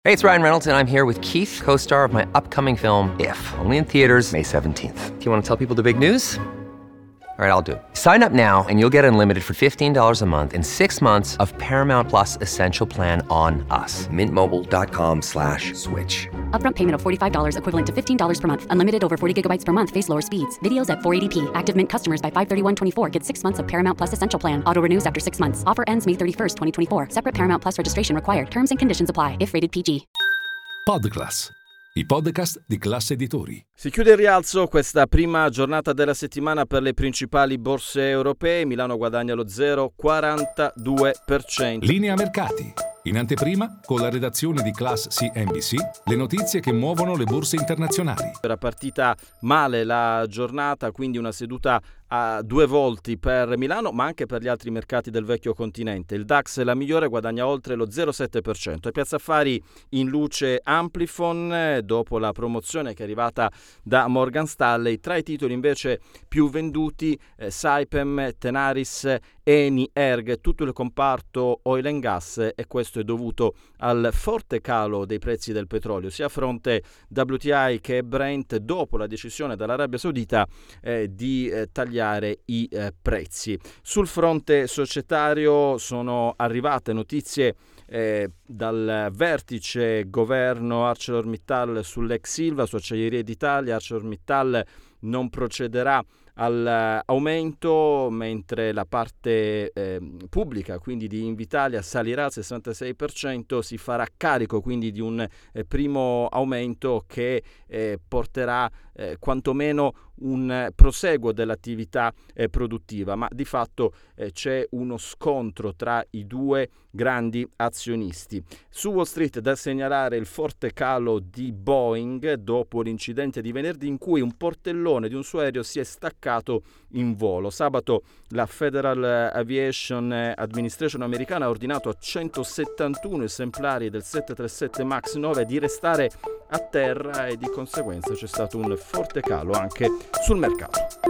Hey, it's Ryan Reynolds, and I'm here with Keith, co-star of my upcoming film, If, only in theaters May 17th. Do you want to tell people the big news? All right, I'll do it. Sign up now and you'll get unlimited for $15 a month and 6 months of Paramount Plus Essential Plan on us. MintMobile.com/switch. Upfront payment of $45 equivalent to $15 per month. Unlimited over 40 gigabytes per month. Face lower speeds. Videos at 480p. Active Mint customers by 531.24 get 6 months of Paramount Plus Essential Plan. Auto renews after 6 months. Offer ends May 31st, 2024. Separate Paramount Plus registration required. Terms and conditions apply if rated PG. Podclass, i podcast di Class Editori. Si chiude il rialzo questa prima giornata della settimana per le principali borse europee. Milano guadagna lo 0,42%. Linea mercati. In anteprima, con la redazione di Class CNBC, le notizie che muovono le borse internazionali. Era partita male la giornata, quindi una seduta a due volti per Milano, ma anche per gli altri mercati del vecchio continente. Il DAX, la migliore, guadagna oltre lo 0,7%. E Piazza Affari in luce Amplifon, dopo la promozione che è arrivata da Morgan Stanley. Tra i titoli invece più venduti, Saipem, Tenaris, Eni, Erg, tutto il comparto oil and gas, e questo è dovuto al forte calo dei prezzi del petrolio, sia a fronte WTI che Brent, dopo la decisione dall'Arabia Saudita di tagliare i prezzi. Sul fronte societario sono arrivate notizie dal vertice governo ArcelorMittal sull'ex Ilva, su Acciaierie d'Italia. ArcelorMittal non procederà all'aumento, mentre la parte pubblica, quindi di Invitalia, salirà al 66%, si farà carico quindi di un primo aumento che porterà quantomeno un proseguo dell'attività produttiva, ma di fatto c'è uno scontro tra i due grandi azionisti. Su Wall Street da segnalare il forte calo di Boeing dopo l'incidente di venerdì, in cui un portellone di un suo aereo si è staccato in volo. Sabato la Federal Aviation Administration americana ha ordinato a 171 esemplari del 737 MAX 9 di restare a terra, e di conseguenza c'è stato un forte calo anche sul mercato.